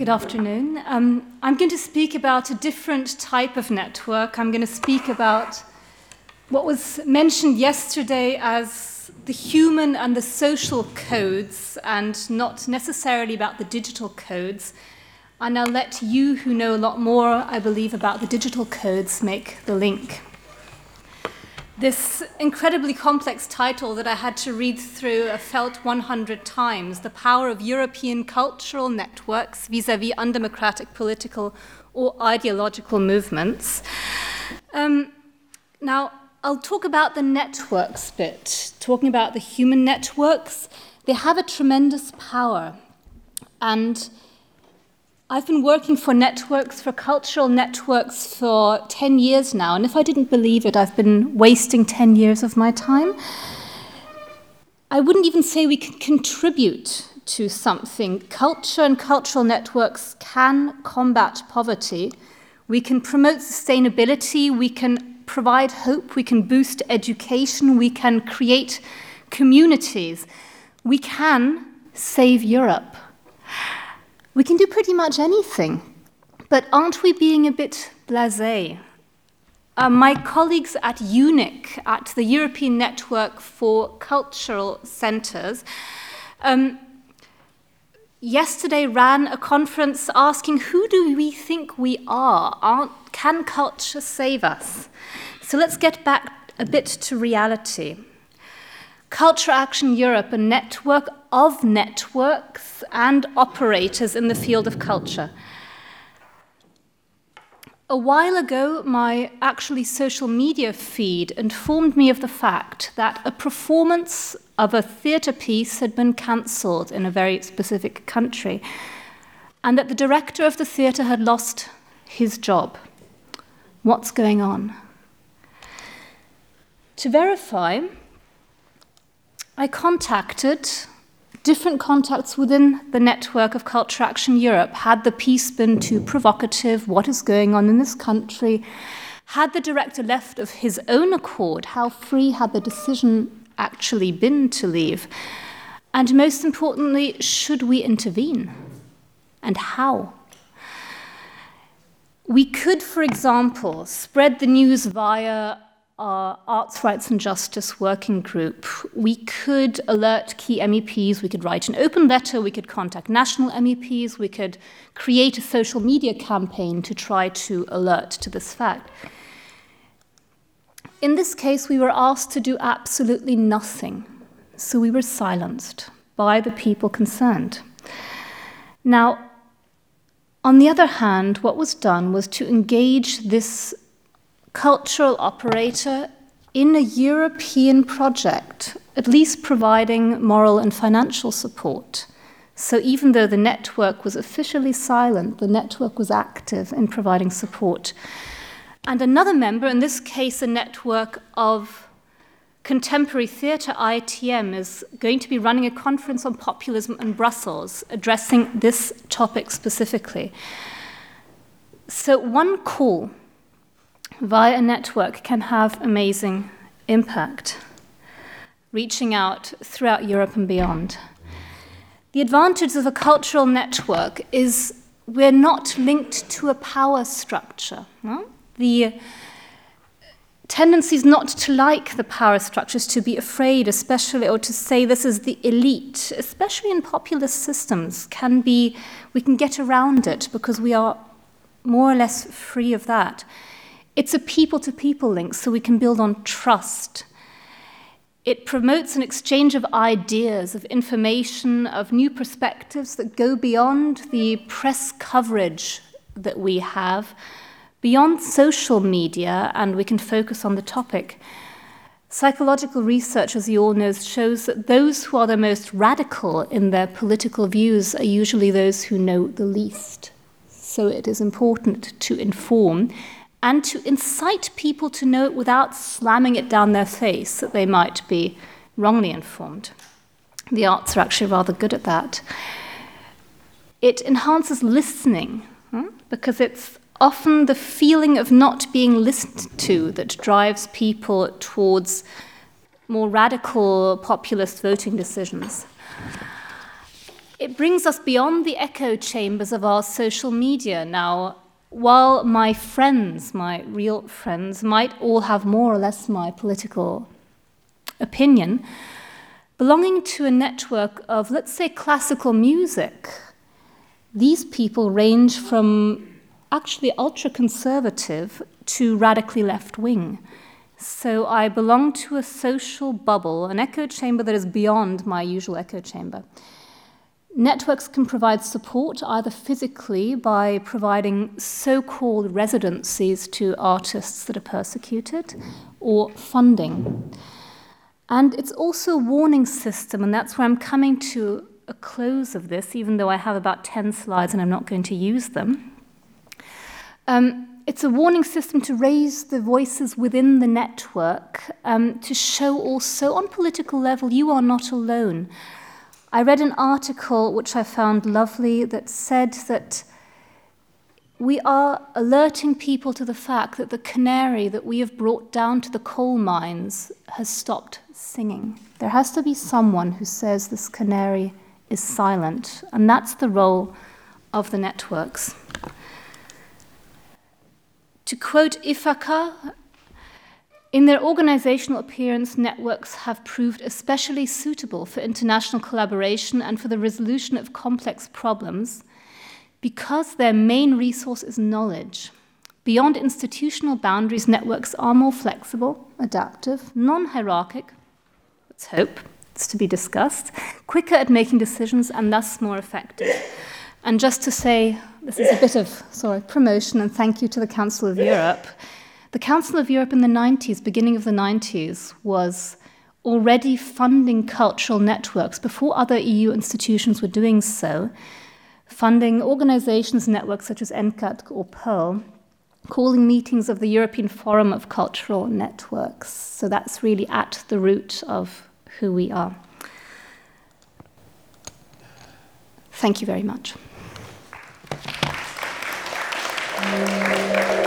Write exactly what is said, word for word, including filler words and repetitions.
Good afternoon. Um, I'm going to speak about a different type of network. I'm going to speak about what was mentioned yesterday as the human and the social codes, and not necessarily about the digital codes. And I'll let you, who know a lot more, I believe, about the digital codes, make the link. This incredibly complex title that I had to read through a felt one hundred times, The Power of European Cultural Networks Vis-à-vis Undemocratic Political or Ideological Movements. Um, now, I'll talk about the networks bit, talking about the human networks. They have a tremendous power. And I've been working for networks, for cultural networks, for ten years now, and if I didn't believe it, I've been wasting ten years of my time. I wouldn't even say we can contribute to something. Culture and cultural networks can combat poverty. We can promote sustainability, we can provide hope, we can boost education, we can create communities. We can save Europe. We can do pretty much anything, but aren't we being a bit blasé? Uh, my colleagues at UNIC, at the European Network for Cultural Centres, um, yesterday ran a conference asking, who do we think we are? Aren't, can culture save us? So let's get back a bit to reality. Culture Action Europe, a network of networks and operators in the field of culture. A while ago, my actually social media feed informed me of the fact that a performance of a theatre piece had been cancelled in a very specific country, and that the director of the theatre had lost his job. What's going on? To verify, I contacted different contacts within the network of Culture Action Europe. Had the piece been too provocative? What is going on in this country? Had the director left of his own accord? How free had the decision actually been to leave? And most importantly, should we intervene? And how? We could, for example, spread the news via our Arts, Rights and Justice Working Group. We could alert key M E Ps, we could write an open letter, we could contact national M E Ps, we could create a social media campaign to try to alert to this fact. In this case, we were asked to do absolutely nothing, so we were silenced by the people concerned. Now, on the other hand, what was done was to engage this cultural operator in a European project, at least providing moral and financial support. So even though the network was officially silent, the network was active in providing support. And another member, in this case a network of contemporary theatre, I T M, is going to be running a conference on populism in Brussels, addressing this topic specifically. So one call via a network can have amazing impact, reaching out throughout Europe and beyond. The advantage of a cultural network is we're not linked to a power structure. No? The tendency is not to like the power structures, to be afraid, especially, or to say this is the elite, especially in populist systems, can be, we can get around it because we are more or less free of that. It's a people-to-people link, so we can build on trust. It promotes an exchange of ideas, of information, of new perspectives that go beyond the press coverage that we have, beyond social media, and we can focus on the topic. Psychological research, as you all know, shows that those who are the most radical in their political views are usually those who know the least. So it is important to inform and to incite people to know it without slamming it down their face that they might be wrongly informed. The arts are actually rather good at that. It enhances listening, hmm? because it's often the feeling of not being listened to that drives people towards more radical populist voting decisions. it brings us beyond the echo chambers of our social media. Now, while my friends, my real friends, might all have more or less my political opinion, belonging to a network of, let's say, classical music, these people range from actually ultra-conservative to radically left-wing. So I belong to a social bubble, an echo chamber that is beyond my usual echo chamber. Networks can provide support either physically by providing so-called residencies to artists that are persecuted, or funding. And it's also a warning system, and that's where I'm coming to a close of this, even though I have about ten slides and I'm not going to use them. Um, it's a warning system to raise the voices within the network, um, to show also on political level you are not alone. I read an article which I found lovely that said that we are alerting people to the fact that the canary that we have brought down to the coal mines has stopped singing. There has to be someone who says this canary is silent, and that's the role of the networks. To quote Ithaka, in their organizational appearance, networks have proved especially suitable for international collaboration and for the resolution of complex problems because their main resource is knowledge. Beyond institutional boundaries, networks are more flexible, adaptive, non-hierarchic, let's hope, it's to be discussed, quicker at making decisions and thus more effective. And just to say, this is a bit of, sorry, promotion and thank you to the Council of Europe. The Council of Europe in the nineties, beginning of the nineties, was already funding cultural networks before other E U institutions were doing so, funding organizations, networks such as ENCAT or Pearl, calling meetings of the European Forum of Cultural Networks. So that's really at the root of who we are. Thank you very much.